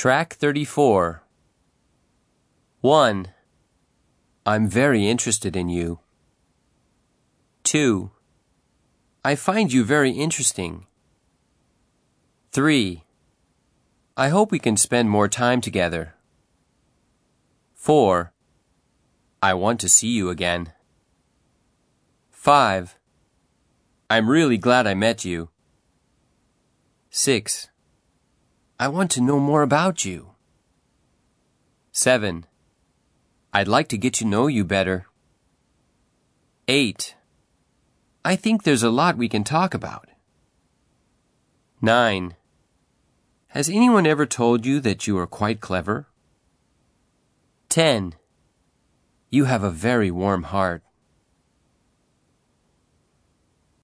Track 34. 1. I'm very interested in you. 2. I find you very interesting. 3. I hope we can spend more time together. 4. I want to see you again. 5. I'm really glad I met you. 6. I want to know more about you. 7. I'd like to get to know you better. 8. I think there's a lot we can talk about. 9. Has anyone ever told you that you are quite clever? 10. You have a very warm heart.